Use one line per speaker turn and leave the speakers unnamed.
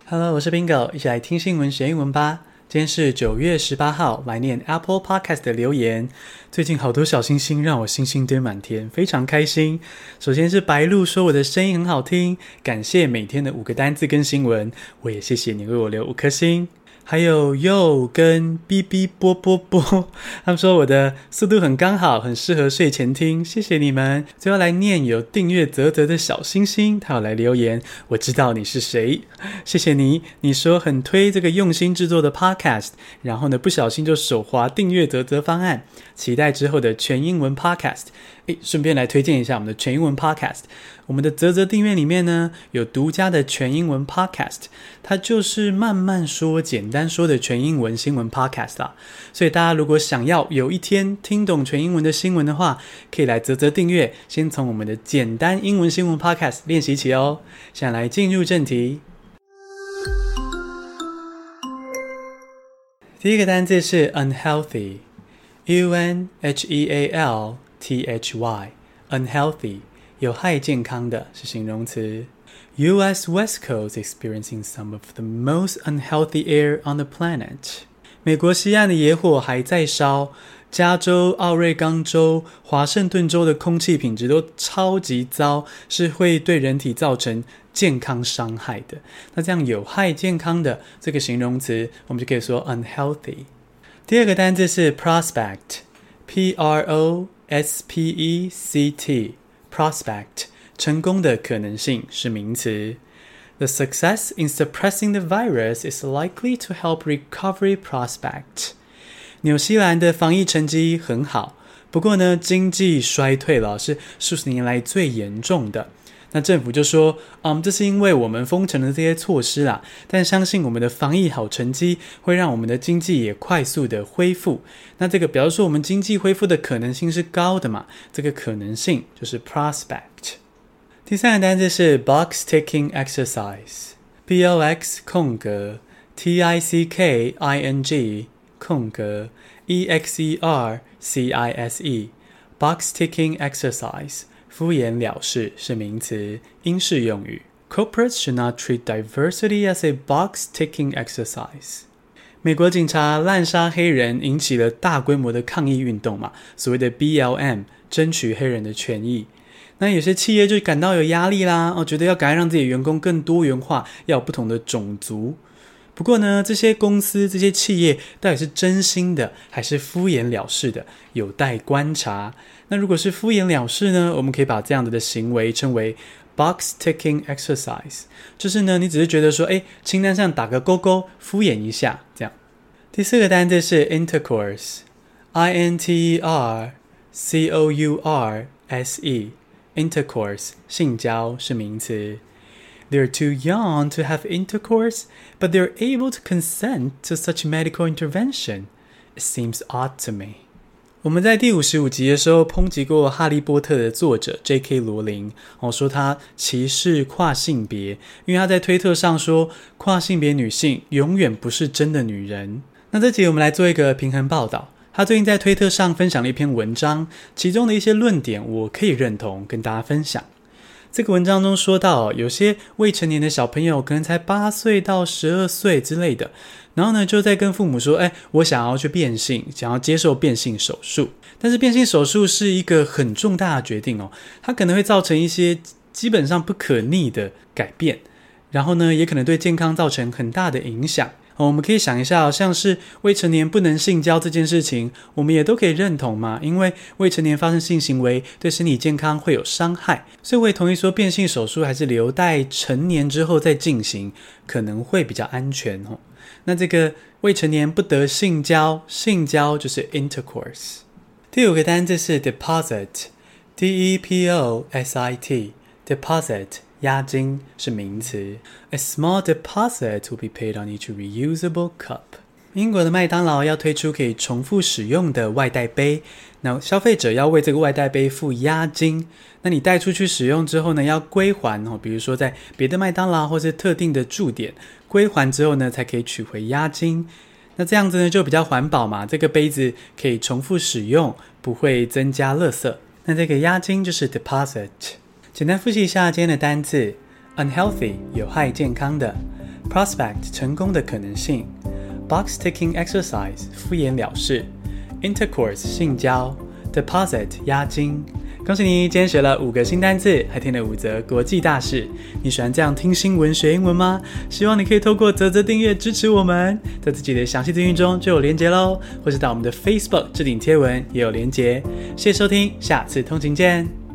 Hello， 我是 Bingo， 一起來聽新聞學英文吧。今天是9月18號，來念 Apple Podcast 的留言。最近好多小星星，讓我星星堆滿天，非常開心。首先是白鹿說我的聲音很好聽，感謝每天的5個單字跟新聞，我也謝謝你為我留5顆星。還有 Yo 跟 BB 波波波，他們說我的速度很剛好，很適合睡前聽，謝謝你們。最後來念有訂閱嘖嘖的小星星，他有來留言，我知道你是誰，謝謝你。你說很推這個用心制作的 podcast， 然後呢不小心就手滑訂閱嘖嘖方案，期待之後的全英文 podcast。順便來推薦一下我們的全英文 podcast。我們的嘖嘖訂閱裡面呢，有獨家的全英文 podcast， 它就是慢慢說、簡單說的全英文新聞 podcast 啦。所以大家如果想要有一天聽懂全英文的新聞的話，可以來嘖嘖訂閱，先從我們的簡單英文新聞 podcast 練習起哦。現在來進入正題。第一個單字是 unhealthy， U-N-H-E-A-L-T-H-Y， unhealthy， 有害健康的是形容詞。US West Coast experiencing some of the most unhealthy air on the planet。 美國西岸的野火還在燒，加州、奧瑞岡州、華盛頓州的空氣品質都超級糟，是會對人體造成健康傷害的。那這樣有害健康的這個形容詞，我們就可以說 unhealthy。第二個單字是 prospect， P-R-O-S-P-E-C-T， prospect， 成功的可能性是名詞。The success in suppressing the virus is likely to help recovery prospect。 紐西蘭的防疫成績很好，不過呢，經濟衰退了，是數十年來最嚴重的。那政府就說，這是因為我們封城的這些措施啦，但相信我們的防疫好成績會讓我們的經濟也快速的恢復。那這個表示說我們經濟恢復的可能性是高的嘛，這個可能性就是 prospect。第三個單字是 box ticking exercise， B-O-X 空格 T-I-C-K-I-N-G 空格 E-X-E-R-C-I-S-E box ticking exercise， 敷衍了事是名詞，英式用語。Corporates should not treat diversity as a box ticking exercise。 美國警察濫殺黑人引起了大規模的抗議運動嘛，所謂的 BLM 爭取黑人的權益。那有些企業就感到有壓力啦，覺得要趕快讓自己的員工更多元化，要有不同的種族。不過呢，這些公司、這些企業到底是真心的還是敷衍了事的，有待觀察。那如果是敷衍了事呢，我們可以把這樣的行為稱為 box ticking exercise， 就是呢，你只是覺得說，清單上打個勾勾，敷衍一下這樣。第四個單字是 intercourse， I-N-T-E-R-C-O-U-R-S-E intercourse 性交是名詞。They're too young to have intercourse, but they're able to consent to such medical intervention. It seems odd to me. 我們在第55集的時候抨擊過哈利波特的作者 J.K. 羅琳，說他歧視跨性別，因為他在推特上說跨性別女性永遠不是真的女人。那這集我們來做一個平衡報道。他最近在推特上分享了一篇文章，其中的一些論點我可以認同，跟大家分享。這個文章中說到，有些未成年的小朋友可能才8歲到12歲之類的，然後呢就在跟父母說，我想要去變性，想要接受變性手術。但是变性手術是一個很重大的決定哦，它可能會造成一些基本上不可逆的改變，然後呢也可能對健康造成很大的影響。我們可以想一下，像是未成年不能性交這件事情，我們也都可以認同嘛，因為未成年發生性行為對身體健康會有傷害，所以我也同意說變性手術還是留待成年之後再進行，可能會比較安全。那這個未成年不得性交，性交就是 intercourse。 第五個單字是 deposit， D-E-P-O-S-I-T deposit押金是名詞。 A small deposit will be paid on each reusable cup。 英國的麥當勞要推出可以重複使用的外帶杯，那消費者要為這個外帶杯付押金，那你帶出去使用之後呢，要歸還，比如說在別的麥當勞或是特定的駐點歸還之後呢，才可以取回押金。那這樣子呢就比較環保嘛，這個杯子可以重複使用，不會增加垃圾。那這個押金就是 deposit。簡單複習一下今天的單字 unhealthy 有害健康的， prospect 成功的可能性 box ticking exercise 敷衍了事 intercourse 性交 deposit 押金。恭喜你，今天學了5個新單字，還聽了5則國際大事。你喜歡這樣聽新聞學英文嗎？希望你可以透過嘖嘖訂閱支持我們，在自己的詳細資訊中就有連結咯，或是到我們的 Facebook 置頂貼文也有連結。謝謝收聽，下次通勤見。